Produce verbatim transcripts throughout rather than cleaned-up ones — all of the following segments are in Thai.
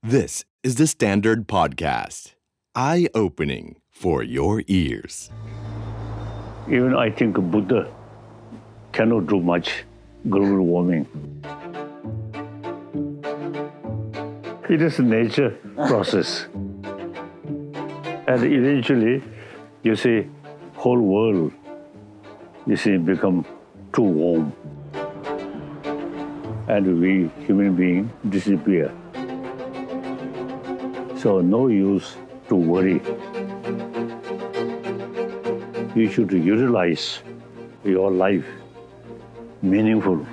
This is the Standard Podcast. Eye-opening for your ears. Even I think Buddha cannot do much global warming. It is a nature process. And eventually, you see, whole world, you see, become too warm. And we, human beings, disappear. So no use to worry. You should utilize your life meaningful.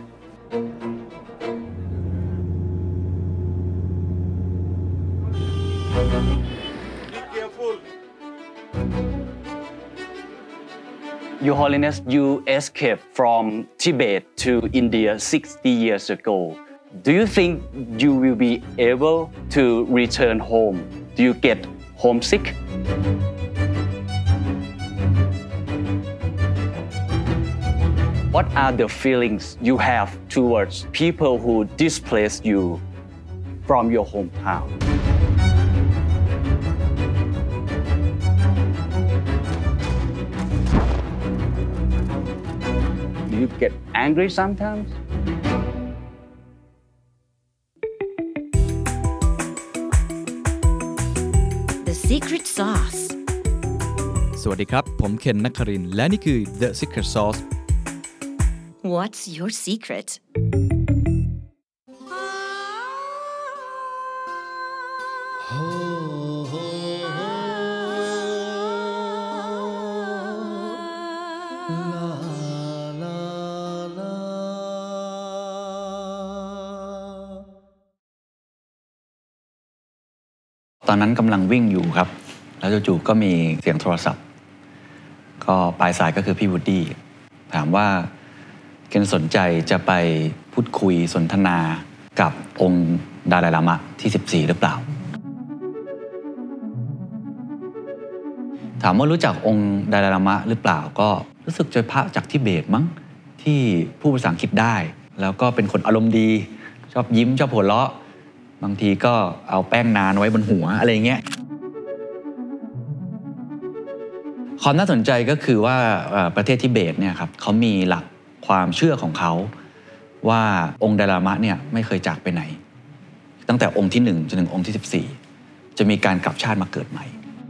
Your Holiness, you escaped from Tibet to India sixty years ago. Do you think you will be able to return home? Do you get homesick? What are the feelings you have towards people who displaced you from your hometown? Do you get angry sometimes? The Secret Sauce สวัสดีครับผมเคนนักครินทร์และนี่คือ The Secret Sauce What's your secret? ตอนนั้นกำลังวิ่งอยู่ครับแล้วจู่ๆก็มีเสียงโทรศัพท์ก็ปลายสายก็คือพี่วูดดี้ถามว่าเคนสนใจจะไปพูดคุยสนทนากับองค์ดาไลลามะที่สิบสี่หรือเปล่าถามว่ารู้จักองค์ดาไลลามะหรือเปล่าก็รู้สึกจะพระจากทิเบตมั้งที่พูดภาษาอังกฤษได้แล้วก็เป็นคนอารมณ์ดีชอบยิ้มชอบหัวเราะบางทีก็เอาแป้งนานไว้บนหัวอะไรเงี้ยความน่าสนใจก็คือว่าประเทศทิเบตเนี่ยครับเขามีหลักความเชื่อของเขาว่าองค์ไดลามะเนี่ยไม่เคยจากไปไหนตั้งแต่องค์ที่หนึ่งจนถึงองค์ที่สิบสี่จะมีการกลับชาติมาเกิดใหม่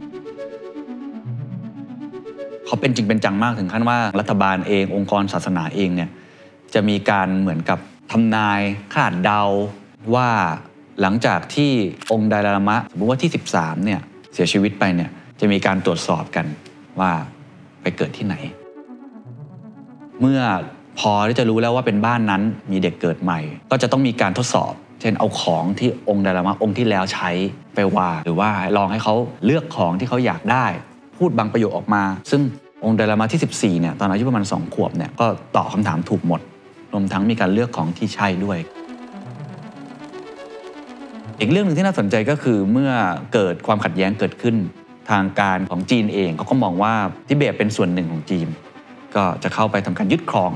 เขาเป็นจริงเป็นจังมากถึงขั้นว่ารัฐบาลเององค์กรศาสนาเองเนี่ยจะมีการเหมือนกับทำนายคาดเดาว่าหลังจากที่องค์ไดลามะสมมติว่าที่สิบสามเนี่ยเสียชีวิตไปเนี่ยจะมีการตรวจสอบกันว่าไปเกิดที่ไหนเมื่อพอที่จะรู้แล้วว่าเป็นบ้านนั้นมีเด็กเกิดใหม่ก็จะต้องมีการทดสอบเช่นเอาของที่องค์ไดลามะองค์ที่แล้วใช้ไปวางหรือว่าลองให้เขาเลือกของที่เขาอยากได้พูดบางประโยคออกมาซึ่งองค์ไดลามะที่สิบสี่เนี่ยตอนอายุประมาณสองขวบเนี่ยก็ตอบคำถามถูกหมดรวมทั้งมีการเลือกของที่ใช่ด้วยอีกเรื่องหนึ่งที่น่าสนใจก็คือเมื่อเกิดความขัดแย้งเกิดขึ้นทางการของจีนเองเขาก็มองว่าทิเบตเป็นส่วนหนึ่งของจีนก็จะเข้าไปทำการยึดครอง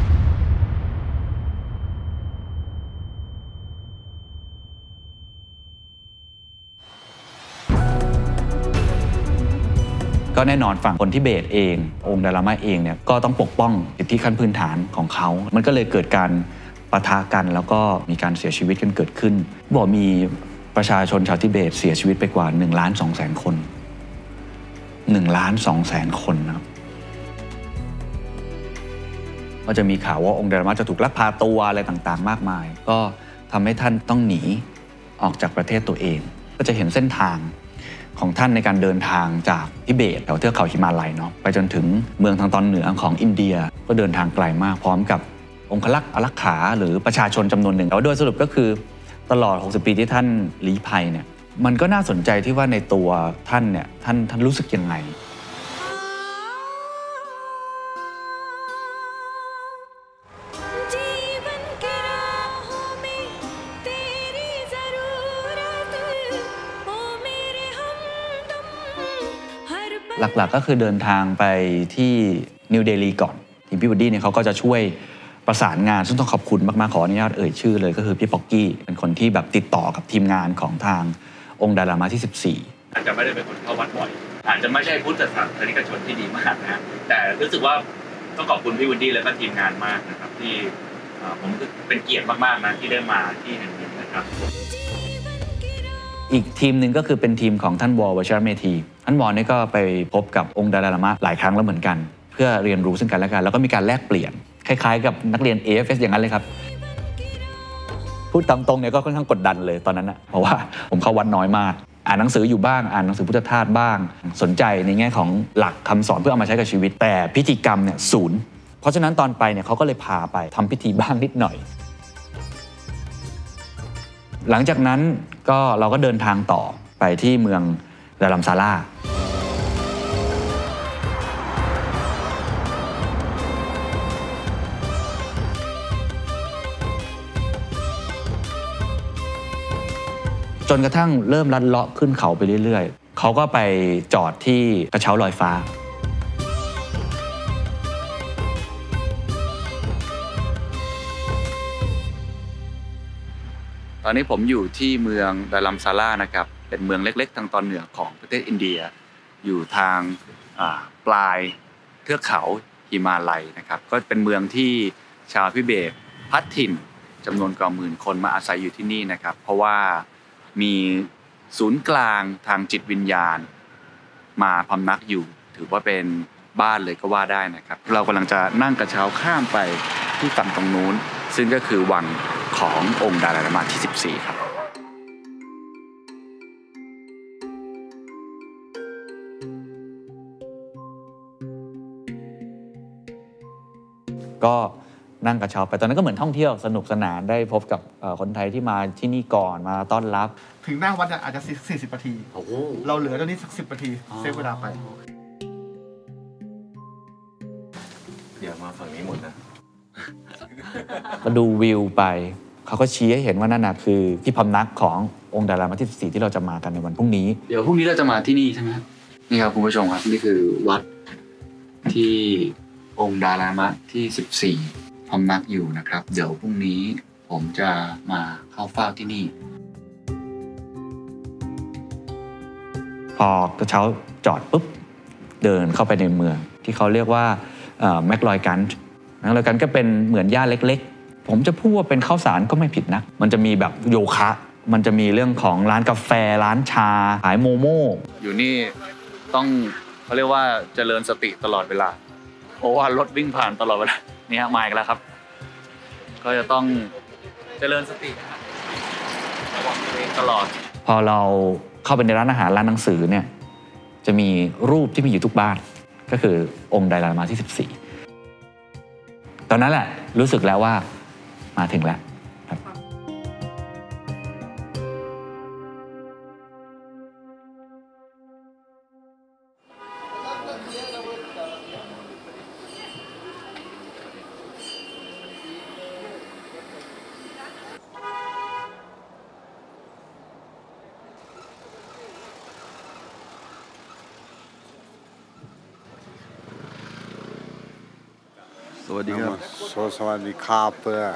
ก็แน่นอนฝั่งคนทิเบตเององค์ไดลามะเองเนี่ยก็ต้องปกป้องสิทธิขั้นพื้นฐานของเขามันก็เลยเกิดการปะทะกันแล้วก็มีการเสียชีวิตกันเกิดขึ้นบอกมีประชาชนชาวทิเบตเสียชีวิตไปกว่าหนึ่งล้านสองแสนคนหนึ่งล้านสองแสนคนนะครับก็จะมีข่าวว่าองค์ไดลามะจะถูกลักพาตัวอะไรต่างๆมากมายก็ทำให้ท่านต้องหนีออกจากประเทศตัวเองก็จะเห็นเส้นทางของท่านในการเดินทางจากทิเบตแถวเทือกเขาหิมาลัยเนาะไปจนถึงเมืองทางตอนเหนือของอินเดียก็เดินทางไกลมากพร้อมกับองครักษ์อารักขาหรือประชาชนจำนวนหนึ่งแต่โดยสรุปก็คือตลอดหกสิบปีที่ท่านลี้ภัยเนี่ยมันก็น่าสนใจที่ว่าในตัวท่านเนี่ยท่านท่านรู้สึกยังไง หลักๆก็คือเดินทางไปที่นิวเดลีก่อนทีมพี่วูดดี้เนี่ยเขาก็จะช่วยประสานงานซึ่งต้องขอบคุณมากๆขออนุญาตเอ่ยชื่อเลยก็คือพี่ป๊อกกี้เป็นคนที่แบบติดต่อกับทีมงานของทางองค์ดาลามะที่สิบสี่อาจจะไม่ได้เป็นคนเข้าวัดบ่อยอาจจะไม่ใช่พุทธศาสนิกชนที่ดีมากนะแต่รู้สึกว่าต้องขอบคุณพี่วูดดี้และก็ทีมงานมากนะครับที่ผมเป็นเกียรติมากๆนะที่ได้มาที่แห่งนี้นะครับอีกทีมหนึ่งก็คือเป็นทีมของท่านวอลวชิรเมธีท่านวอลนี่ก็ไปพบกับองค์ดาลามะหลายครั้งแล้วเหมือนกันเพื่อเรียนรู้ซึ่งกันและกันแล้วก็มีการแลกเปลี่ยนคล้ายๆกับนักเรียน เอ เอฟ เอส อย่างนั้นเลยครับพูดตามตรงเนี่ยก็ค่อนข้างกดดันเลยตอนนั้นนะเพราะว่าผมเข้าวัดน้อยมากอ่านหนังสืออยู่บ้างอ่านหนังสือพุทธทาสบ้างสนใจในแง่ของหลักคำสอนเพื่อเอามาใช้กับชีวิตแต่พิธีกรรมเนี่ยศูนย์เพราะฉะนั้นตอนไปเนี่ยเขาก็เลยพาไปทำพิธีบ้างนิดหน่อยหลังจากนั้นก็เราก็เดินทางต่อไปที่เมืองดารัมซาลาจนกระทั่งเริ่มลัดเลาะขึ้นเขาไปเรื่อยๆเขาก็ไปจอดที่กระเช้าลอยฟ้าตอนนี้ผมอยู่ที่เมืองดารัมซาลานะครับเป็นเมืองเล็กๆทางตอนเหนือของประเทศอินเดียอยู่ทางปลายเทือกเขาหิมาลัยนะครับก็เป็นเมืองที่ชาวทิเบตพัดถิ่นจำนวนกว่าหมื่นคนมาอาศัยอยู่ที่นี่นะครับเพราะว่ามีศูนย์กลางทางจิตวิญญาณมาพำนักอยู่ถือว่าเป็นบ้านเลยก็ว่าได้นะครับเรากำลังจะนั่งกระเช้าข้ามไปที่ฝั่งตรงนู้นซึ่งก็คือวังขององค์ดาลามะที่สิบสี่ครับก็นั่งกระเช้าไปตอนนั้นก็เหมือนท่องเที่ยวสนุกสนานได้พบกับคนไทยที่มาที่นี่ก่อนมาต้อนรับถึงหน้าวัดอาจจะสี่สิบนาทีเราเหลือตอนนี้สักสิบนาทีเซฟเวลาไปเดี๋ยวมาฝั่งนี้หมดนะก็ดูวิวไปเขาก็ชี้ให้เห็นว่านั่นน่ะคือที่พำนักขององค์ดาลามะที่สิบสี่ที่เราจะมากันในวันพรุ่งนี้เดี๋ยวพรุ่งนี้เราจะมาที่นี่ใช่ไหมครับนี่ครับคุณผู้ชมครับนี่คือวัดที่องค์ดาลามะที่สิบสี่พำนักอยู่นะครับเดี๋ยวพรุ่งนี้ผมจะมาเข้าเฝ้าที่นี่พอกระเช้าจอดปุ๊บเดินเข้าไปในเมืองที่เขาเรียกว่าแมคลอยกันแมคลอยกันก็เป็นเหมือนย่านเล็กๆผมจะพูดว่าเป็นข้าวสารก็ไม่ผิดนะมันจะมีแบบโยคะมันจะมีเรื่องของร้านกาแฟร้านชาขายโมโม่อยู่นี่ต้องเขาเรียกว่าเจริญสติตลอดเวลาเพราะว่ารถวิ่งผ่านตลอดเวลานี่ฮะมาอีกแล้วครับก็จะต้องเจริญสติระวังตัวเองตลอดพอเราเข้าไปในร้านอาหารร้านหนังสือเนี่ยจะมีรูปที่มีอยู่ทุกบ้านก็คือองค์ดาลามะที่สิบสี่ตอนนั้นแหละรู้สึกแล้วว่ามาถึงแล้วครับสวัสดีครับสวัสดีครับเพื่อ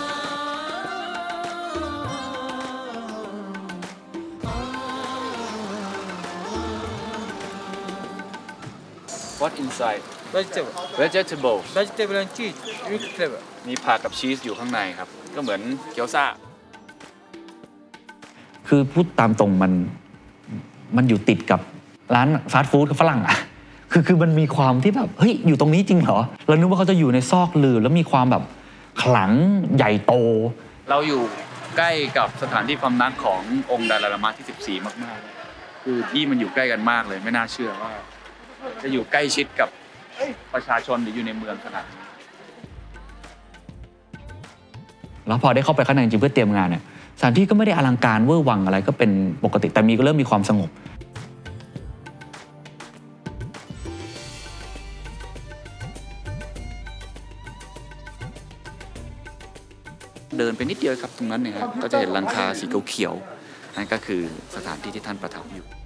What inside vegetable vegetable vegetable and cheese with flavor มีผักกับชีสอยู่ข้างในครับก็เหมือนเกี๊ยวซ่าคือพูดตามตรงมันมันอยู่ติดกับร้านฟาสต์ฟู้ดกับฝรั่งอ่ะคือคือมันมีความที่แบบเฮ้ยอยู่ตรงนี้จริงเหรอเรานึกว่าเขาจะอยู่ในซอกลือแล้วมีความแบบขลังใหญ่โตเราอยู่ใกล้กับสถานที่พำนักขององค์ดาลามะที่สิบสี่มากๆคือที่มันอยู่ใกล้กันมากเลยไม่น่าเชื่อว่าจะอยู่ใกล้ชิดกับประชาชนหรืออยู่ในเมืองขนาดนี้แล้วพอได้เข้าไปข้างในจริงเพื่อเตรียมงานเนี่ยสถานที่ก็ไม่ได้อลังการเวอร์วังอะไรก็เป็นปกติแต่มีก็เริ่มมีความสงบเดินไปนิดเดียวครับตรงนั้นเนี่ยครับก็จะเห็นหลังคาสีเขียวๆนั่นก็คือสถานที่ที่ท่านประทับอยู่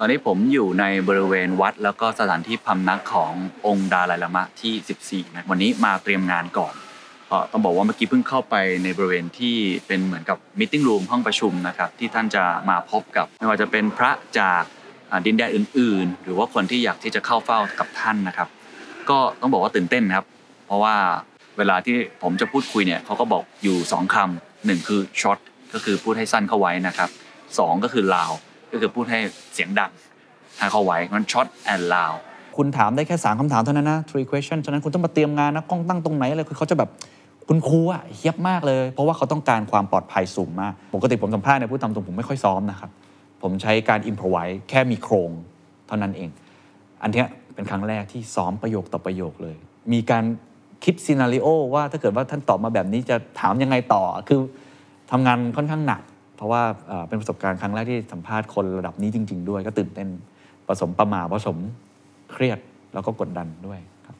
อนนี้ผมอยู่ในบริเวณวัดแล้วก็สถานที่พำนักขององค์ดาไลลามะที่สิบสี่นะวันนี้มาเตรียมงานก่อนเพราะต้องบอกว่าเมื่อกี้เพิ่งเข้าไปในบริเวณที่เป็นเหมือนกับมีตติ้งรูมห้องประชุมนะครับที่ท่านจะมาพบกับไม่ว่าจะเป็นพระจากดินแดนอื่นๆหรือว่าคนที่อยากที่จะเข้าเฝ้ากับท่านนะครับก็ต้องบอกว่าตื่นเต้นครับเพราะว่าเวลาที่ผมจะพูดคุยเนี่ยเขาก็บอกอยู่สองคำหนึ่งคือช็อตก็คือพูดให้สั้นเข้าไว้นะครับสองก็คือลาวก็คือพูดให้เสียงดังให้เข้าไว้มันช็อตแอนด์ลาวคุณถามได้แค่สามคำถามเท่านั้นนะ three question ฉะนั้นคุณต้องมาเตรียมงานนะกล้องตั้งตรงไหนอะไรคือเขาจะแบบคุณครูอ่ะเฮี้ยบมากเลยเพราะว่าเขาต้องการความปลอดภัยสูงมากปกติผมสัมภาษณ์เนี่ยพูดตามตรงผมไม่ค่อยซ้อมนะครับผมใช้การ improvise แค่มีโครงเท่านั้นเองอันเนี้ยเป็นครั้งแรกที่ซ้อมประโยคต่อประโยคเลยมีการคิดซีนาริโอว่าถ้าเกิดว่าท่านตอบมาแบบนี้จะถามยังไงต่อคือทำงานค่อนข้างหนักเพราะว่าเป็นประสบการณ์ครั้งแรกที่สัมภาษณ์คนระดับนี้จริงๆด้วยก็ตื่นเต้นผสมประหม่าผสมเครียดแล้วก็กดดันด้วยครับ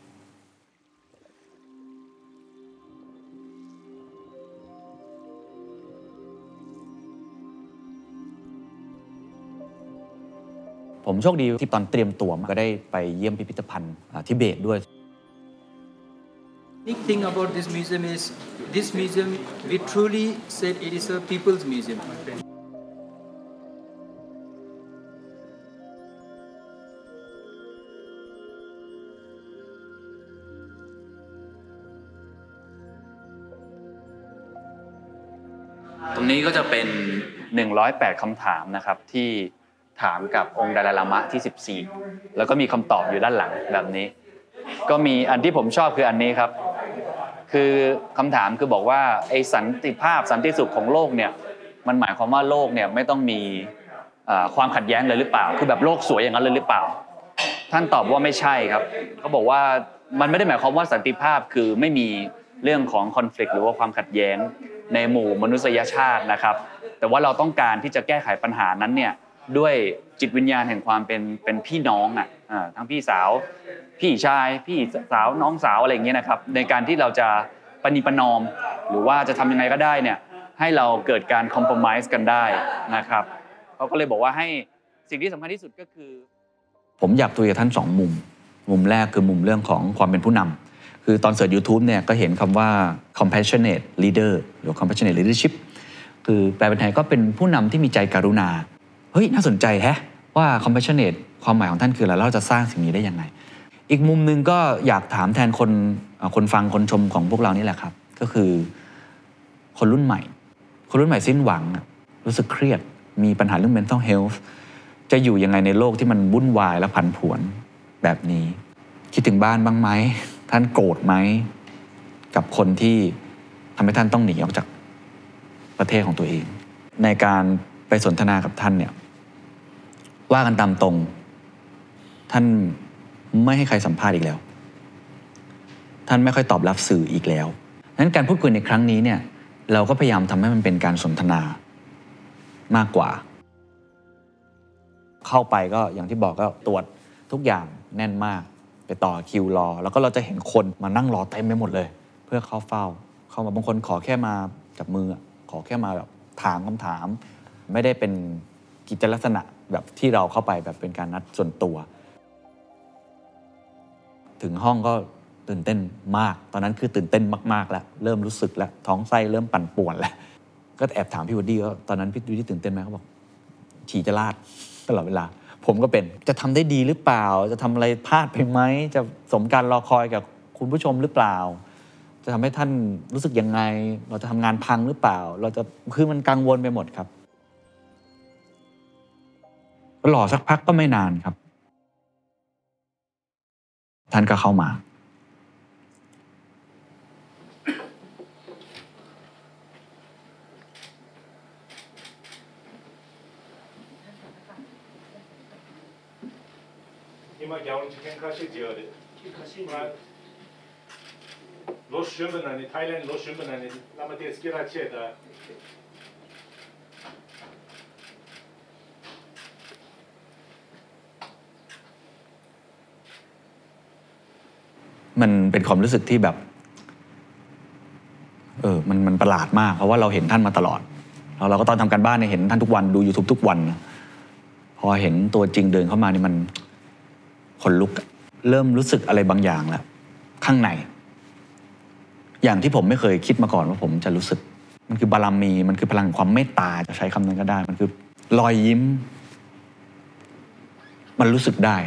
ผมโชคดีที่ตอนเตรียมตัวก็ได้ไปเยี่ยมพิพิธภัณฑ์ทิเบตด้วย Unique thing about this museum is this museum we truly said it is a people's museum. ตรงนี้ก็จะเป็นหนึ่งร้อยแปดคำถามนะครับที่ถามกับองค์ดาไลลามะที่สิบสี่แล้วก็มีคำตอบอยู่ด้านหลังแบบนี้ก็มีอันที่ผมชอบคืออันนี้ครับคือคำถามคือบอกว่าไอ้สันติภาพสันติสุขของโลกเนี่ยมันหมายความว่าโลกเนี่ยไม่ต้องมีความขัดแย้งเลยหรือเปล่าคือแบบโลกสวยอย่างนั้นเลยหรือเปล่าท่านตอบว่าไม่ใช่ครับเขาบอกว่ามันไม่ได้หมายความว่าสันติภาพคือไม่มีเรื่องของคอนฟลิกต์หรือว่าความขัดแย้งในหมู่มนุษยชาตินะครับแต่ว่าเราต้องการที่จะแก้ไขปัญหานั้นเนี่ยด้วยจิตวิญญาณแห่งความเป็นเป็นพี่น้องอ่ะทั้งพี่สาวพี่ชายพี่สาวน้องสาวอะไรอย่างเงี้ยนะครับในการที่เราจะประนีประนอมหรือว่าจะทำยังไงก็ได้เนี่ยให้เราเกิดการคอมโพรไมซ์กันได้นะครับเขาก็เลยบอกว่าให้สิ่งที่สำคัญที่สุดก็คือผมอยากคุยกับท่านสองมุมมุมแรกคือมุมเรื่องของความเป็นผู้นำคือตอนเสิร์ช YouTube เนี่ยก็เห็นคำว่า compassionate leader หรือ compassionate leadership คือแปลเป็นไทยก็เป็นผู้นำที่มีใจกรุณาเฮ้ยน่าสนใจแฮะว่า compassionate ความหมายของท่านคืออะไรแล้วเราจะสร้างสิ่งนี้ได้ยังไงอีกมุมนึงก็อยากถามแทนคนคนฟังคนชมของพวกเรานี่แหละครับก็คือคนรุ่นใหม่คนรุ่นใหม่สิ้นหวังรู้สึกเครียดมีปัญหาเรื่อง mental health จะอยู่ยังไงในโลกที่มันวุ่นวายและผันผวนแบบนี้คิดถึงบ้านบ้างไหมท่านโกรธไหมกับคนที่ทำให้ท่านต้องหนีออกจากประเทศของตัวเองในการไปสนทนากับท่านเนี่ยว่ากันตามตรงท่านไม่ให้ใครสัมภาษณ์อีกแล้วท่านไม่ค่อยตอบรับสื่ออีกแล้วนั้นการพูดคุยในครั้งนี้เนี่ยเราก็พยายามทำให้มันเป็นการสนทนามากกว่าเข้าไปก็อย่างที่บอกก็ตรวจทุกอย่างแน่นมากไปต่อคิวรอแล้วก็เราจะเห็นคนมานั่งรอเต็มไปหมดเลยเพื่อเข้าเฝ้าเข้ามาบางคนขอแค่มาจับมือขอแค่มาแบบถามคำถามไม่ได้เป็นกิจลักษณะแบบที่เราเข้าไปแบบเป็นการนัดส่วนตัวถึงห้องก็ตื่นเต้นมากตอนนั้นคือตื่นเต้นมากๆแล้วเริ่มรู้สึกแล้วท้องไส้เริ่มปั่นป่วนแล้วก็แอบถามพี่วูดดี้ว่าตอนนั้นพี่วูดดี้ตื่นเต้นไหมเขาบอกฉี่จะลาดตลอดเวลาผมก็เป็นจะทำได้ดีหรือเปล่าจะทำอะไรพลาดไปไหมจะสมการรอคอยกับคุณผู้ชมหรือเปล่าจะทำให้ท่านรู้สึกยังไงเราจะทำงานพังหรือเปล่าเราจะคือมันกังวลไปหมดครับรอสักพักก็ไม่นานครับท่านก็เข้ามา今ギャオン事件開始時で罗选本来的，台湾罗选本来的，那么电视给他切的。 มันเป็นความรู้สึกที่แบบเออมันมันประหลาดมากเพราะว่าเราเห็นท่านมาตลอดแล้วเราก็ตอนทำการบ้านเนี่ยเห็นท่านทุกวันดู YouTube ทุกวันนะพพอเห็นตัวจริงเดินเข้ามานี่มันขนลุกเริ่มรู้สึกอะไรบางอย่างแล้วข้างในอย่างที่ผมไม่เคยคิดมาก่อนว่าผมจะรู้สึกมันคือบารมีมันคือพลังความเมตตาจะใช้คำนั้นก็ได้มันคือรอยยิ้มมันรู้สึกได้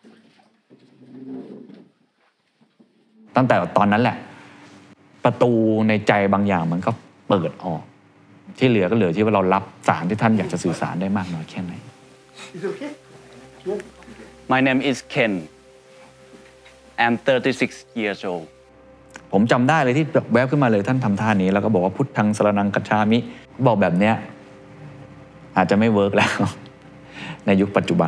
ตั้งแต่ตอนนั้นแหละประตูในใจบางอย่างมันก็เปิดออกที่เหลือก็เหลือที่ว่าเรารับสารที่ท่านอยากจะสื่อสารได้มากน้อยแค่ไหน My name is Ken I'm thirty-six years old ผมจำได้เลยที่แวบขึ้นมาเลยท่านทำท่านี้แล้วก็บอกว่าพุทธังสรณังคัจฉามิบอกแบบเนี้ยอาจจะไม่เวิร์กแล้วในยุคปัจจุบัน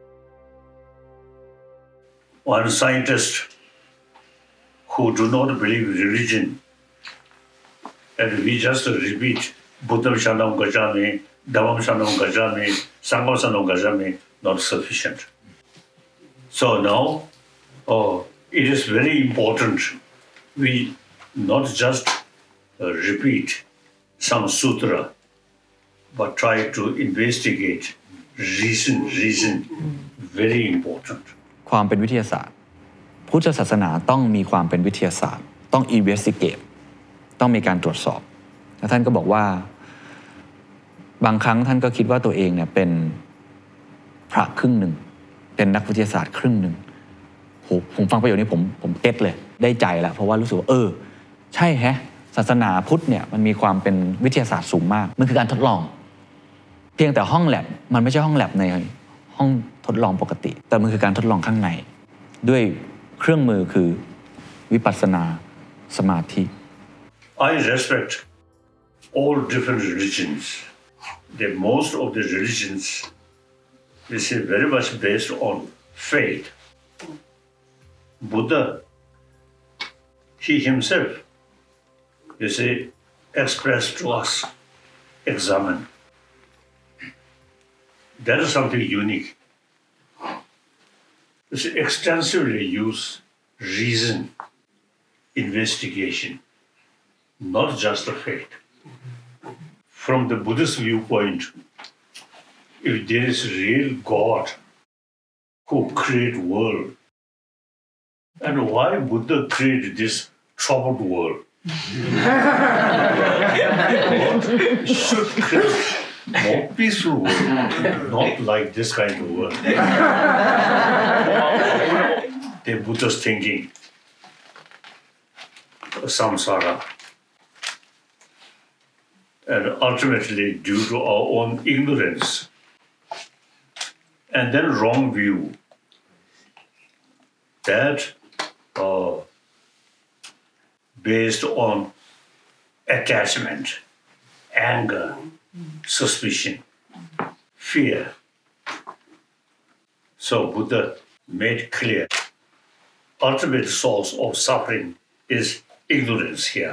One scientist who do not believe religion and we just repeat Buddham Shanam Gacchami, Dhammam Shanam Gacchami, Sangham Shanam Gacchami, not sufficient. So now oh, it is very important we not just uh, repeat some sutra but try to investigate reason, reason, very important. ความเป็นวิทยาศาสตร์พุทธศาสนาต้องมีความเป็นวิทยาศาสตร์ต้อง investigate ต้องมีการตรวจสอบแล้วท่านก็บอกว่าบางครั้งท่านก็คิดว่าตัวเองเนี่ยเป็นพระครึ่งหนึ่งเป็นนักวิทยาศาสตร์ครึ่งหนึ่งโหผมฟังประโยคนี้ผมผมเก็ตเลยได้ใจแล้วเพราะว่ารู้สึกว่าเออใช่แฮะศาสนาพุทธเนี่ยมันมีความเป็นวิทยาศาสตร์สูงมากมันคือการทดลองเพียงแต่ห้องแลบมันไม่ใช่ห้องแลบในห้องทดลองปกติแต่มันคือการทดลองข้างในด้วยเครื่องมือคือวิปัสสนาสมาธิ I respect all different religions. The most of the religions is very much based on faith. Buddha, he himself, you see, expressed to us, examine. That is something unique. You see, extensively use reason, investigation, not just the faith. From the Buddhist viewpoint, if there is real God who created world, and why Buddha created this troubled world? Should create more peaceful world, not like this kind of world. The Buddha's thinking, samsara, and ultimately due to our own ignorance and then wrong view that uh, based on attachment, anger, suspicion, fear. So Buddha made clear ultimate source of suffering is ignorance here.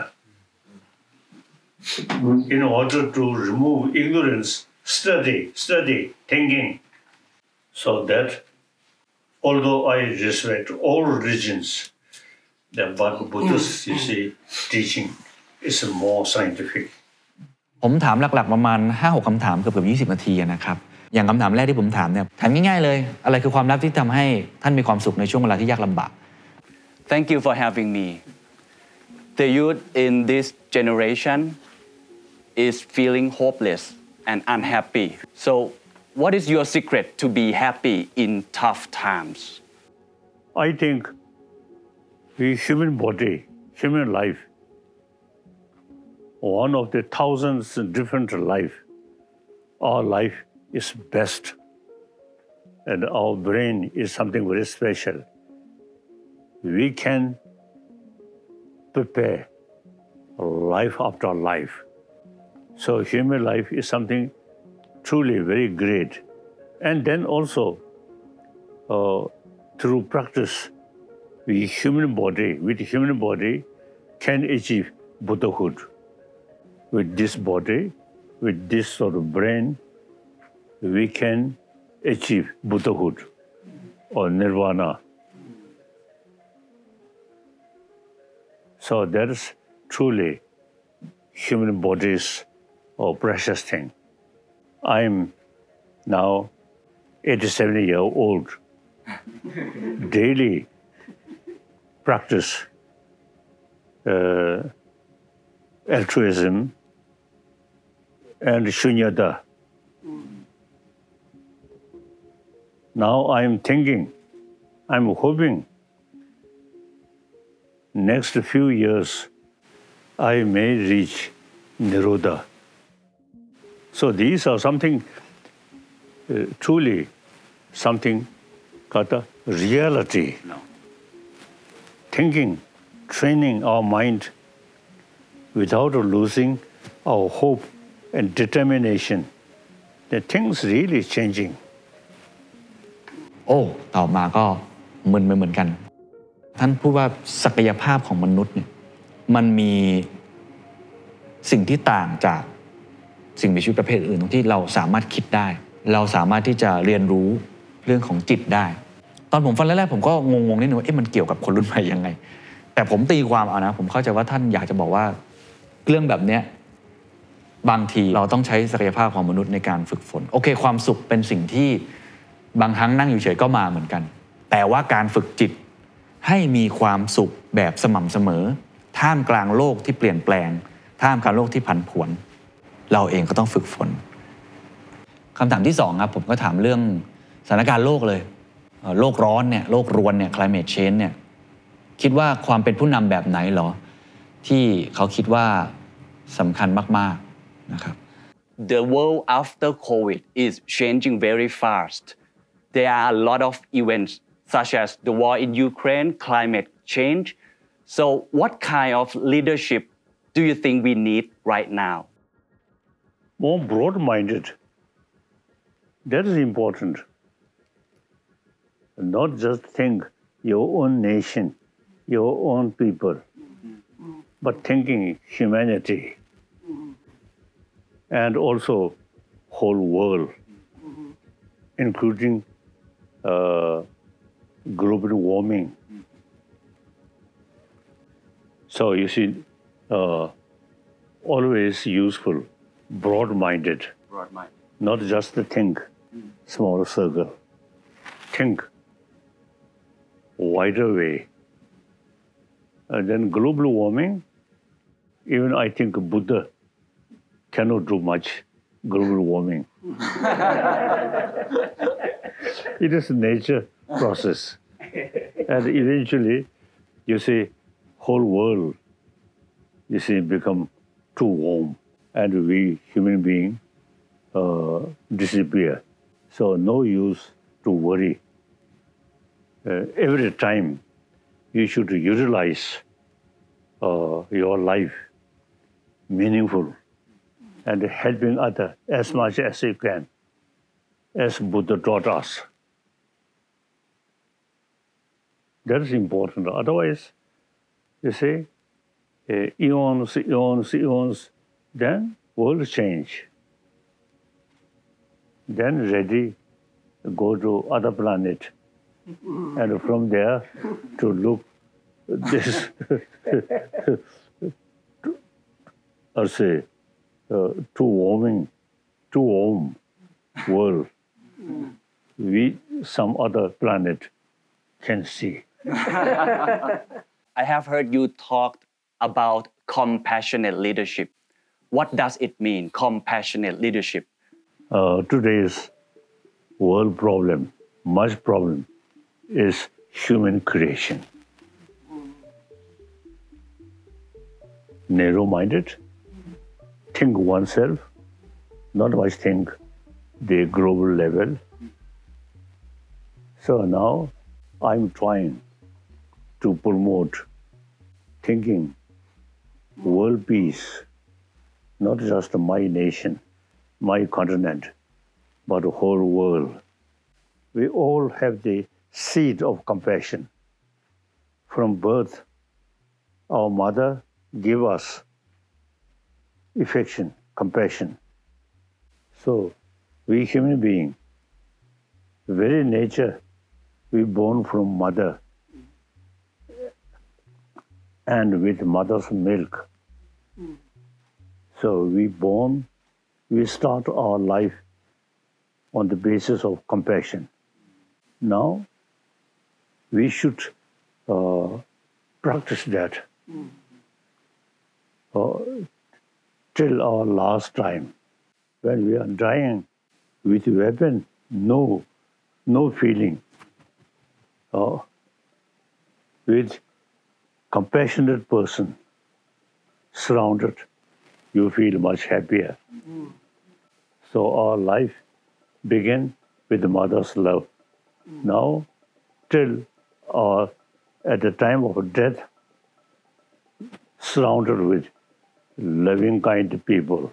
In order to remove ignorance, study, study, thinking. So that, although I respect all religions, that but Buddha's, you see, teaching is more scientific. ผมถามหลักๆประมาณ ห้าหก คำถามเกือบๆยี่สิบนาทีนะครับอย่างคำถามแรกที่ผมถามเนี่ยถามง่ายๆเลยอะไรคือความลับที่ทำให้ท่านมีความสุขในช่วงเวลาที่ยากลำบาก Thank you for having me. The youth in this generation is feeling hopeless and unhappy. So, what is your secret to be happy in tough times? I think the human body, human life, one of the thousands different life, our life is best, and our brain is something very special. We can prepare life after life. So human life is something truly very great. And then also, uh, through practice, the human body, with human body, can achieve Buddhahood. With this body, with this sort of brain, we can achieve Buddhahood or Nirvana. So that is truly human body's a precious thing. I'm now eighty-seven year old, daily practice uh, altruism and shunyata. Now I'm thinking, I'm hoping next few years I may reach Nirodha. So these are something uh, truly something called a reality. No. Thinking, training our mind without losing our hope and determination. The things really changing. โอ้ตอบมาก็มึนไปเหมือนกันท่านพูดว่าศักยภาพของมนุษย์เนี่ยมันมีสิ่งที่ต่างจากสิ่งมีชีวิตประเภทอื่นตรงที่เราสามารถคิดได้เราสามารถที่จะเรียนรู้เรื่องของจิตได้ตอนผมฟังแรกๆผมก็งงๆนิดนึงว่าเอ๊ะมันเกี่ยวกับคนรุ่นใหม่ยังไงแต่ผมตีความเอานะผมเข้าใจว่าท่านอยากจะบอกว่าเรื่องแบบเนี้ยบางทีเราต้องใช้ศักยภาพของมนุษย์ในการฝึกฝนโอเคความสุขเป็นสิ่งที่บางครั้งนั่งอยู่เฉยก็มาเหมือนกันแต่ว่าการฝึกจิตให้มีความสุขแบบสม่ำเสมอท่ามกลางโลกที่เปลี่ยนแปลงท่ามกลางโลกที่ผันผวนเราเองก็ต้องฝึกฝนคำถามที่สองครับผมก็ถามเรื่องสถานการณ์โลกเลยโลกร้อนเนี่ยโลกรวนเนี่ย climate change เนี่ยคิดว่าความเป็นผู้นำแบบไหนเหรอที่เขาคิดว่าสำคัญมากๆนะครับ The world after COVID is changing very fast. There are a lot of events such as the war in Ukraine, climate change. So what kind of leadership do you think we need right now? More broad-minded. That is important. Not just think your own nation, your own people, but thinking humanity and also whole world, including uh, global warming. So you see, uh, always useful, broad-minded, Broad-minded. not just to think small circle. Think wider way. And then global warming, even I think Buddha cannot do much global warming. It is a nature process. And eventually, you see, whole world, you see, become too warm. And we, human beings, uh, disappear. So no use to worry. Uh, every time you should utilize uh, your life meaningful and helping others as much as you can, as Buddha taught us. That is important. Otherwise, you see, uh, eons, eons, eons, then world change. Then ready, go to other planet. And from there to look this, or say, uh, too warming, too warm world, we some other planet can see. I have heard you talk about compassionate leadership. What does it mean, compassionate leadership? Uh, today's world problem, much problem, is human creation. Narrow-minded, think oneself, not much think the global level. So now I'm trying to promote thinking world peace, not just my nation, my continent, but the whole world. We all have the seed of compassion. From birth, our mother gave us affection, compassion. So we human beings, very nature, we born from mother and with mother's milk. So we born, we start our life on the basis of compassion. Now, we should uh, practice that uh, till our last time. When we are dying with weapon, no, no feeling. Uh, with compassionate person surrounded, you feel much happier. Mm. So our life began with the mother's love. Mm. Now, till or at the time of death, surrounded with loving, kind people.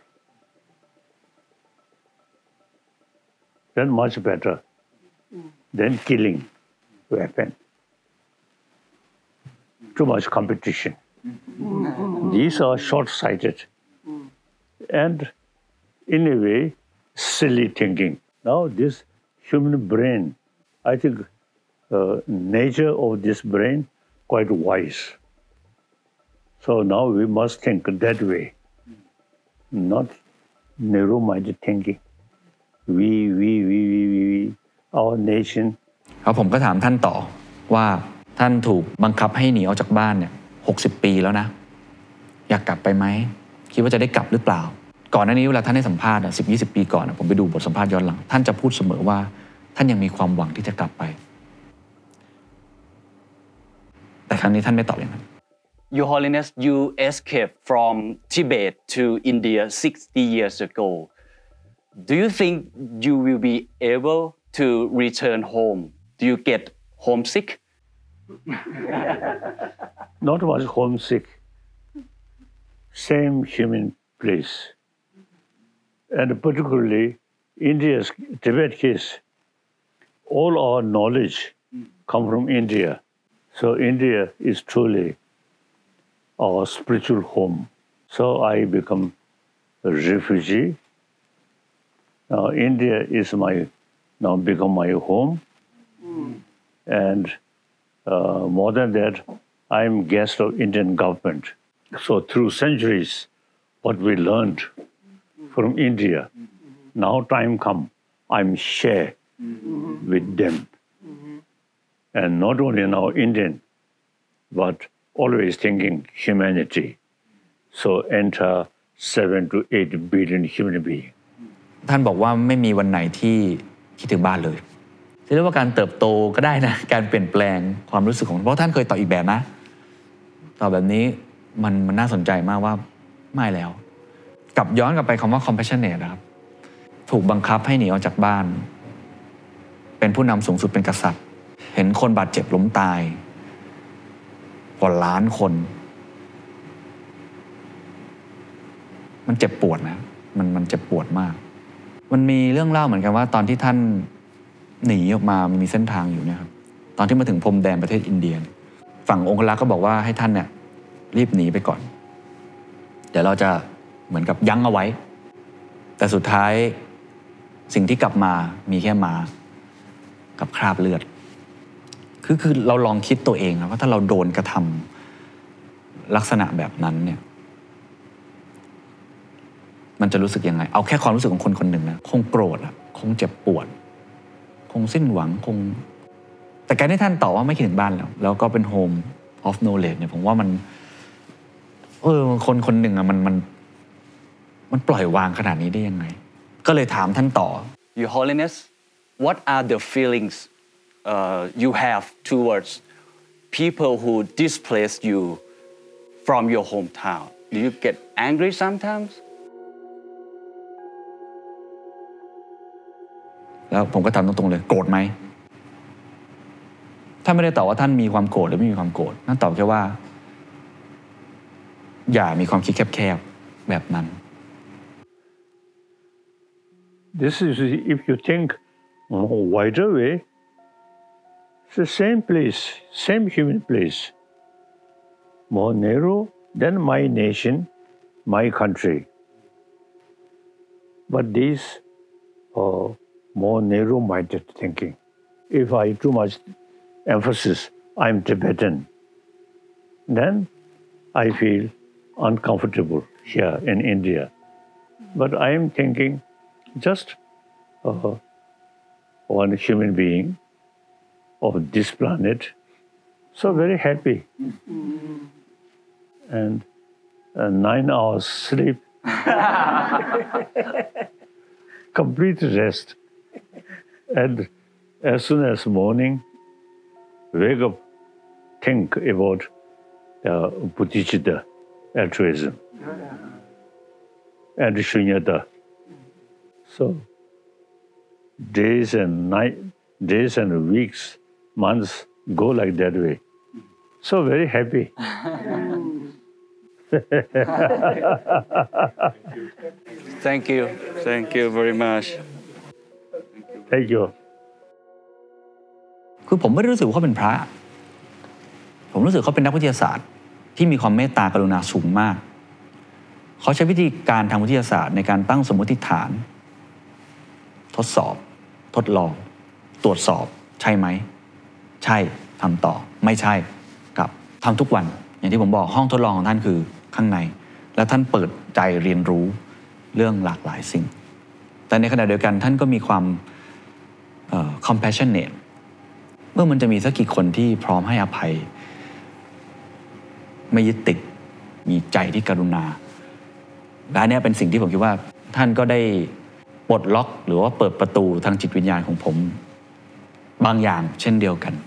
Then much better mm. than killing weapon. Too much competition. Mm. These are short-sighted mm. and, in a way, silly thinking. Now, this human brain, I think uh, nature of this brain quite wise. So now we must think that way, not narrow-minded thinking. We, we, we, we, we, we, our nation. ครับผมก็ถามท่านต่อว่าท่านถูกบังคับให้หนีออกจากบ้านเนี่ยหกสิบปีแล้วนะอยากกลับไปไหมคิดว่าจะได้กลับหรือเปล่าก่อนหน้านี้เวลาท่านให้สัมภาษณ์สิบยี่สิบปีก่อนผมไปดูบทสัมภาษณ์ย้อนหลังท่านจะพูดเสมอว่าท่านยังมีความหวังที่จะกลับไปแต่ครั้งนี้ท่านไม่ตอบอย่างนั้น Your Holiness, you escaped from Tibet to India sixty years ago. Do you think you will be able to return home? Do you get homesick? Not much homesick. Same human place. And particularly India's Tibet case, all our knowledge come from India. So India is truly our spiritual home. So I become a refugee. Now India is my, now become my home. Mm. And uh, more than that, I'm guest of Indian government. So through centuries, what we learned from India, now time come, I'm share mm-hmm. with them. Mm-hmm. And not only now Indian, but always thinking humanity. So enter seven to eight billion human beings. ท่านบอกว่าไม่มีวันไหนที่คิดถึงบ้านเลยเรียกว่าการเติบโตก็ได้นะการเปลี่ยนแปลงความรู้สึกของเพราะท่านเคยตอบอีกแบบนะตอบแบบนี้มันมันน่าสนใจมากว่าไม่แล้วกลับย้อนกลับไปคำว่า compassionate นะครับถูกบังคับให้หนีออกจากบ้านเป็นผู้นำสูงสุดเป็นกษัตริย์เห็นคนบาดเจ็บล้มตายกว่าล้านคนมันเจ็บปวดนะมันมันเจ็บปวดมากมันมีเรื่องเล่าเหมือนกันว่าตอนที่ท่านหนีออกมามันมีเส้นทางอยู่เนี่ยครับตอนที่มาถึงพรมแดนประเทศอินเดียฝั่งองครักษ์ก็บอกว่าให้ท่านเนี่ยรีบหนีไปก่อนเดี๋ยวเราจะเหมือนกับยั้งเอาไว้แต่สุดท้ายสิ่งที่กลับมามีแค่ม้ากับคราบเลือดคือคือเราลองคิดตัวเองนะว่าถ้าเราโดนกระทำลักษณะแบบนั้นเนี่ยมันจะรู้สึกยังไงเอาแค่ความรู้สึกของคนคนหนึ่งนะคงโกรธอะคงเจ็บปวดคงสิ้นหวังคงแต่การที่ท่านตอบว่าไม่คิดถึงบ้านแล้วแล้วก็เป็น home of knowledge เนี่ยผมว่ามันเออคนคนหนึ่งอะมันมันมันปล่อยวางขนาดนี้ได้ยังไงก็เลยถามท่านต่อ Your Holiness, what are the feelings uh, you have towards people who displaced you from your hometown? Do you get angry sometimes?แล้วผมก็ถามตรงๆเลยโกรธไหมท่านไม่ได้ตอบว่าท่านมีความโกรธหรือไม่มีความโกรธท่านตอบแค่ว่าอย่ามีความคิดแคบๆแบบนั้น This is if you think more wider way, it's the same place, same human place, more narrow than my nation, my country. But these are more narrow-minded thinking. If I too much emphasis, I'm Tibetan, then I feel uncomfortable here in India. But I am thinking just uh, one human being of this planet. So very happy. And uh, nine hours sleep, complete rest. And as soon as morning, wake up, think about uh, Bodhicitta, altruism, and Shunyata. So days and night, days and weeks, months go like that way. So very happy. Thank you. Thank you very much. Thank you. คือผมไม่ได้รู้สึกว่าเขาเป็นพระผมรู้สึกเขาเป็นนักวิทยาศาสตร์ที่มีความเมตตากรุณาสูงมากเขาใช้วิธีการทางวิทยาศาสตร์ในการตั้งสมมติฐานทดสอบทดลองตรวจสอบใช่ไหมใช่ทำต่อไม่ใช่กับทำทุกวันอย่างที่ผมบอกห้องทดลองของท่านคือข้างในและท่านเปิดใจเรียนรู้เรื่องหลากหลายสิ่งแต่ในขณะเดียวกันท่านก็มีความเอ่อ compassionate เมื่อมันจะมีสักกี่คนที่พร้อมให้อภัยไม่ยึดติดมีใจที่กรุณาและอันนี้เป็นสิ่งที่ผมคิดว่าท่านก็ได้ปลดล็อกหรือว่าเปิดประตูทางจิตวิญญาณของผมบางอย่างเช่นเดียวกัน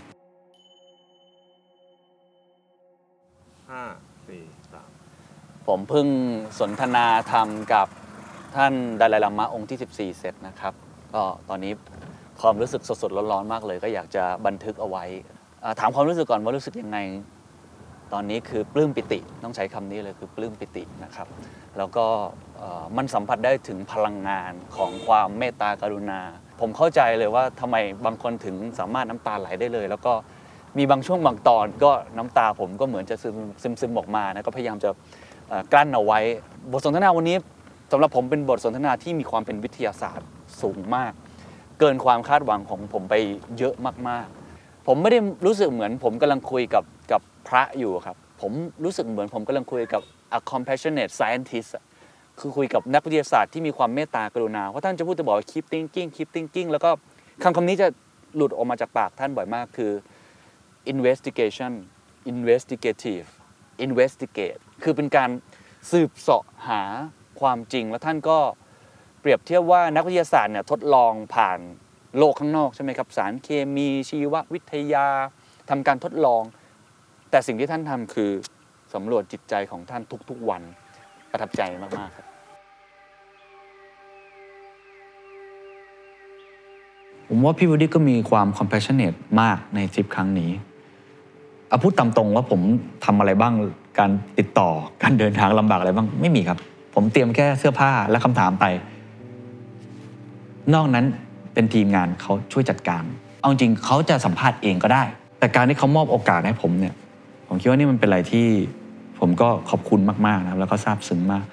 ห้า สี่ สามผมเพิ่งสนทนาธรรมกับท่านดาไลลามะองค์ที่สิบสี่เสร็จนะครับก็ตอนนี้ความรู้สึกสดๆร้อนๆมากเลยก็อยากจะบันทึกเอาไว้ถามความรู้สึกก่อนว่ารู้สึกยังไงตอนนี้คือปลื้มปิติต้องใช้คำนี้เลยคือปลื้มปิตินะครับแล้วก็มันสัมผัสได้ถึงพลังงานของความเมตตากรุณาผมเข้าใจเลยว่าทำไมบางคนถึงสามารถน้ำตาไหลได้เลยแล้วก็มีบางช่วงบางตอนก็น้ำตาผมก็เหมือนจะซึมซึมซึมออกมานะก็พยายามจะกลั้นเอาไว้บทสนทนาวันนี้สำหรับผมเป็นบทสนทนาที่มีความเป็นวิทยาศาสตร์สูงมากเกินความคาดหวังของผมไปเยอะมากๆผมไม่ได้รู้สึกเหมือนผมกำลังคุยกับกับพระอยู่ครับผมรู้สึกเหมือนผมกำลังคุยกับ a compassionate scientist คือคุยกับนักวิทยาศาสตร์ที่มีความเมตตากรุณาเพราะท่านจะพูดจะบอกว่า keep thinking keep thinking แล้วก็คำคำนี้จะหลุดออกมาจากปากท่านบ่อยมากคือ investigation investigative investigate คือเป็นการสืบเสาะหาความจริงแล้วท่านก็เปรียบเทียบว่านักวิทยาศาสตร์เนี่ยทดลองผ่านโลกข้างนอกใช่ไหมครับสารเคมีชีววิทยาทำการทดลองแต่สิ่งที่ท่านทำคือสำรวจจิตใจของท่านทุกๆวันประทับใจมากๆครับผมว่าพี่วูดดี้ก็มีความ compassionate มากในทริปครั้งนี้เอาพูดตามตรงว่าผมทำอะไรบ้างการติดต่อการเดินทางลำบากอะไรบ้างไม่มีครับผมเตรียมแค่เสื้อผ้าและคำถามไปนอกนั้นเป็นทีมงานเขาช่วยจัดการเอาจริงเขาจะสัมภาษณ์เองก็ได้แต่การที่เขามอบโอกาสให้ผมเนี่ยผมคิดว่านี่มันเป็นอะไรที่ผมก็ขอบคุณมากๆนะครับแล้วก็ซาบซึ้งมาก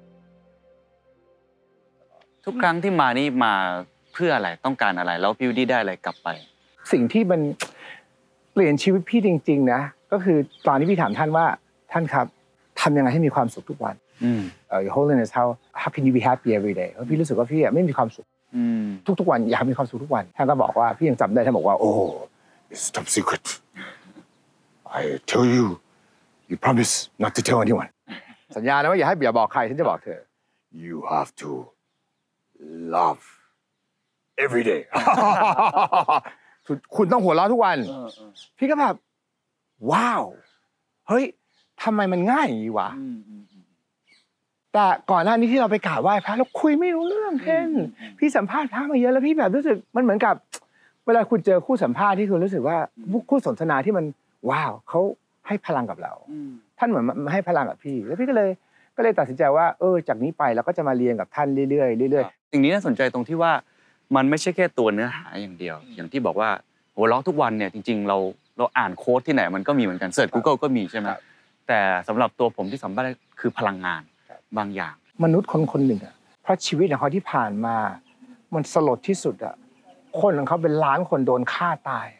ทุกครั้งที่มานี่มาเพื่ออะไรต้องการอะไรแล้วพี่วูดดี้ได้อะไรกลับไปสิ่งที่มันเปลี่ยนชีวิตพี่จริงๆนะก็คือตอนที่พี่ถามท่านว่าท่านครับทำยังไงให้มีความสุขทุกวันเอ่อ Your Holiness how how can you be happy every day เพราะพี่รู้สึกว่าพี่ไม่มีความสุขทุกๆวันอยากมีความสุขทุกวันท่านก็บอกว่าพี่ยังจำได้ท่านบอกว่า Oh it's top secret I tell you you promise not to tell anyone สัญญานะว่าอย่าให้อย่าบอกใครฉันจะบอกเธอ You have to love every day คุณต้องหัวเราะทุกวันพี่ก็แบบว้าวเฮ้ยทำไมมันง่ายอย่างนี้วะแต่ก่อนหน้านี้ที่เราไปกราบไหว้พระเราคุยไม่รู้เรื่องเพ่นพี่สัมภาษณ์พระมาเยอะแล้วพี่แบบรู้สึกมันเหมือนกับเวลาคุณเจอคู่สัมภาษณ์ที่คุณรู้สึกว่าคู่สนทนาที่มันว้าวเขาให้พลังกับเราท่านเหมือนมาให้พลังกับพี่แล้วพี่ก็เลยก็เลยตัดสินใจว่าเออจากนี้ไปเราก็จะมาเรียนกับท่านเรื่อยๆเรื่อยๆสิ่งนี้น่าสนใจตรงที่ว่ามันไม่ใช่แค่ตัวเนื้อหาอย่างเดียวอย่างที่บอกว่าหัวเราะทุกวันเนี่ยจริงๆเราเราอ่านโค้ดที่ไหนมันก็มีเหมือนกันเสิร์ช Google ก็มีใช่ไหมแต่สำหรับตัวผมที่สัมภาษณ์คือพลังงานบางอย่างมนุษย์คนคนหนึ่งอ่ะเพราะชีวิตของเขาที่ผ่านมามันสลดที่สุดอ่ะคนของเขาเป็นล้านคนโดนฆ่าตาย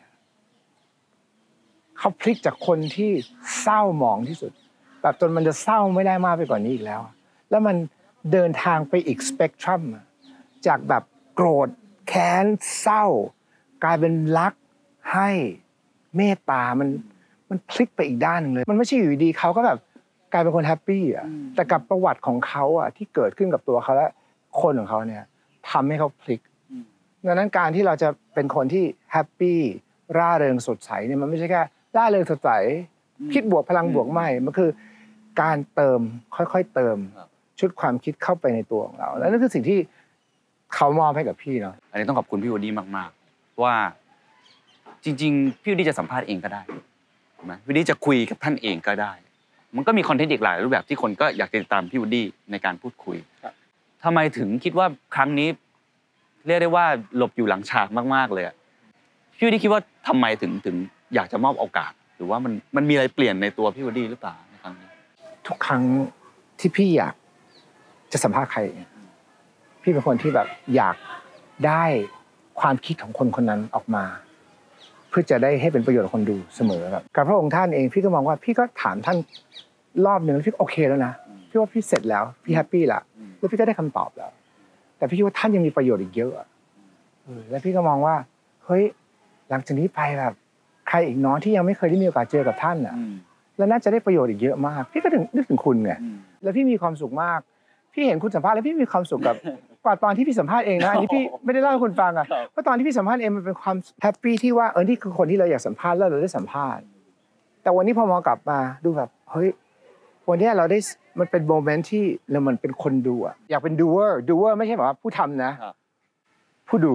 เขาพลิกจากคนที่เศร้าหมองที่สุดแบบจนมันจะเศร้าไม่ได้มากไปกว่านี้อีกแล้วแล้วมันเดินทางไปอีกสเปกตรัมจากแบบโกรธแค้นเศร้ากลายเป็นรักให้เมตตามันมันพลิกไปอีกด้านนึงเลยมันไม่ใช่อยู่ดีเขาก็แบบกลายเป็นคนแฮปปี้อ่ะแต่กับประวัติของเขาอ่ะที่เกิดขึ้นกับตัวเขาและคนของเขาเนี่ยทำให้เขาพลิกดังนั้นการที่เราจะเป็นคนที่แฮปปี้ร่าเริงสดใสเนี่ยมันไม่ใช่แค่ร่าเริงสดใสคิดบวกพลังบวกไม่มันคือการเติมค่อยๆเติมชุดความคิดเข้าไปในตัวของเราและนั่นคือสิ่งที่เขามอบให้กับพี่เนาะอันนี้ต้องขอบคุณพี่วูดดี้มากๆว่าจริงๆพี่วูดดี้จะสัมภาษณ์เองก็ได้ถูกไหมพี่วูดดี้จะคุยกับท่านเองก็ได้มันก็มีคอนเทนต์อีกหลายรูปแบบที่คนก็อยากติดตามพี่วูดดี้ในการพูดคุยทำไมถึงคิดว่าครั้งนี้เรียกได้ว่าหลบอยู่หลังฉากมากๆเลยพี่วูดดี้คิดว่าทำไมถึงถึงอยากจะมอบโอกาสหรือว่ามันมันมีอะไรเปลี่ยนในตัวพี่วูดดี้หรือเปล่าในครั้งนี้ทุกครั้งที่พี่อยากจะสัมภาษณ์ใครพี่เป็นคนที่แบบอยากได้ความคิดของคนคนนั้นออกมาเพื่อจะได้ให้เป็นประโยชน์กับคนดูเสมอครับกับพระองค์ท่านเองพี่ก็มองว่าพี่ก็ถามท่านรอบนึงแล้วพี่โอเคแล้วนะพี่ว่าพี่เสร็จแล้วพี่แฮปปี้ละแล้วพี่ก็ได้คำตอบแล้วแต่พี่คิดว่าท่านยังมีประโยชน์อีกเยอะแล้วพี่ก็มองว่าเฮ้ยหลังจากนี้ไปแบบใครอีกน้อยที่ยังไม่เคยได้มีโอกาสเจอกับท่านอ่ะแล้วน่าจะได้ประโยชน์อีกเยอะมากพี่ก็ถึงนึกถึงคุณไงแล้วพี่มีความสุขมากพี่เห็นคุณสัมภาษณ์แล้วพี่มีความสุขกับกว่าตอนที่พี่สัมภาษณ์เองนะอันนี้พี่ไม่ได้เล่าให้คุณฟังอ่ะเพราะตอนที่พี่สัมภาษณ์เองมันเป็นความแฮปปี้ที่ว่าเออนี่คือคนที่เราอยากสัมภาษณ์แล้วเราได้สัมภาษณ์แต่วันนี้พอมองกลับมาดูแบบเฮ้ยวันนี้เราได้มันเป็นโมเมนต์ที่เรามันเป็นคนดูอ่ะอยากเป็นดูเวอร์ดูเวอร์ไม่ใช่แบบว่าผู้ทำนะผู้ดู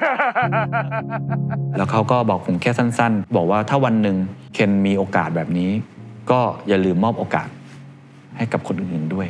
แล้วเขาก็บอกผมแค่สั้นๆบอกว่าถ้าวันหนึ่งเคนมีโอกาสแบบนี้ก็อย่าลืมมอบโอกาสให้กับคนอื่นๆด้วย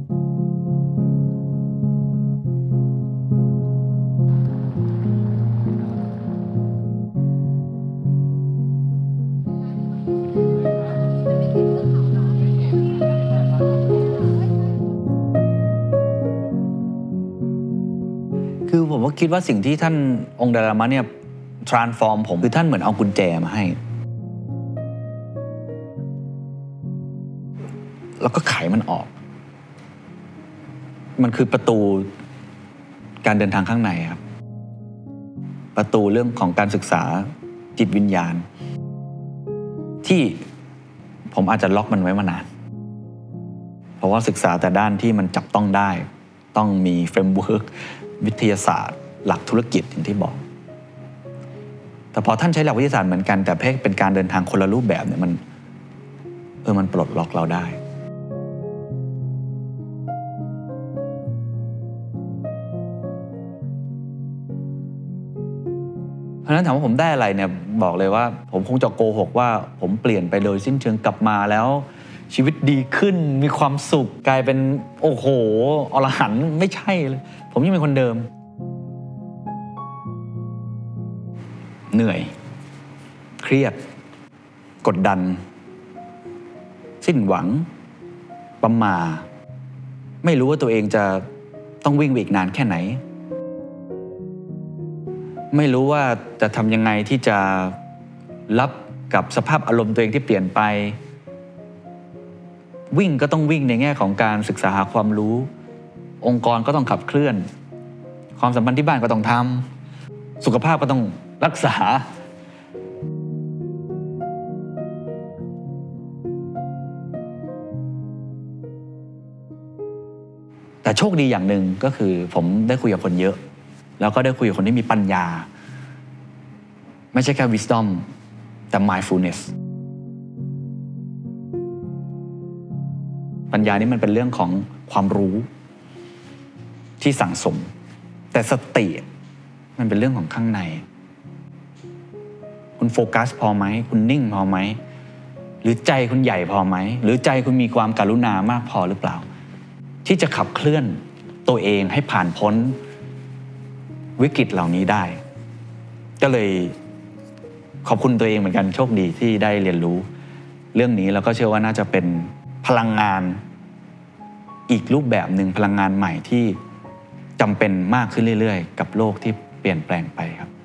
คือผมก็คิดว่าสิ่งที่ท่านองค์ดาลามะเนี่ย transform ผมคือท่านเหมือนเอากุญแจมาให้แล้วก็ไขมันออกมันคือประตูการเดินทางข้างในครับประตูเรื่องของการศึกษาจิตวิญญาณที่ผมอาจจะล็อกมันไว้มานานเพราะว่าศึกษาแต่ด้านที่มันจับต้องได้ต้องมีเฟรมเวิร์กวิทยาศาสตร์หลักธุรกิจอย่างที่บอกแต่พอท่านใช้หลักวิทยาศาสตร์เหมือนกันแต่เพ่เป็นการเดินทางคนละรูปแบบเนี่ยมันเออมันปลดล็อกเราได้เพราะฉะนั้นถามว่าผมได้อะไรเนี่ยบอกเลยว่าผมคงจะโกหกว่าผมเปลี่ยนไปโดยสิ้นเชิงกลับมาแล้วชีวิตดีขึ้นมีความสุขกลายเป็นโอ้โหอรหันต์ไม่ใช่เลยผมยังเป็นคนเดิมเหนื่อยเครียดกดดันสิ้นหวังประหม่าไม่รู้ว่าตัวเองจะต้องวิ่งไปอีกนานแค่ไหนไม่รู้ว่าจะทำยังไงที่จะรับกับสภาพอารมณ์ตัวเองที่เปลี่ยนไปวิ่งก็ต้องวิ่งในแง่ของการศึกษาหาความรู้องค์กรก็ต้องขับเคลื่อนความสัมพันธ์ที่บ้านก็ต้องทำสุขภาพก็ต้องรักษาแต่โชคดีอย่างหนึ่งก็คือผมได้คุยกับคนเยอะแล้วก็ได้คุยกับคนที่มีปัญญาไม่ใช่แค่ wisdom แต่ mindfulness ปัญญานี่มันเป็นเรื่องของความรู้ที่สั่งสมแต่สติมันเป็นเรื่องของข้างในคุณโฟกัสพอไหมคุณนิ่งพอไหมหรือใจคุณใหญ่พอไหมหรือใจคุณมีความกรุณามากพอหรือเปล่าที่จะขับเคลื่อนตัวเองให้ผ่านพ้นวิกฤตเหล่านี้ได้ก็เลยขอบคุณตัวเองเหมือนกันโชคดีที่ได้เรียนรู้เรื่องนี้แล้วก็เชื่อว่าน่าจะเป็นพลังงานอีกรูปแบบหนึ่งพลังงานใหม่ที่จำเป็นมากขึ้นเรื่อยๆกับโลกที่เปลี่ยนแปลงไปครับ